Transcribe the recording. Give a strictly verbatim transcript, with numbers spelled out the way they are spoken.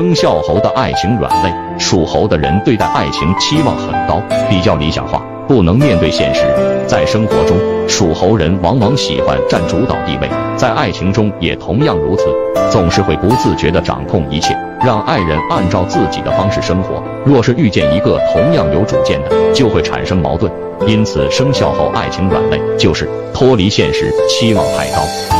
生肖猴的爱情软肋，属猴的人对待爱情期望很高，比较理想化，不能面对现实。在生活中，属猴人往往喜欢占主导地位，在爱情中也同样如此，总是会不自觉地掌控一切，让爱人按照自己的方式生活。若是遇见一个同样有主见的，就会产生矛盾。因此，生肖猴爱情软肋就是脱离现实，期望太高。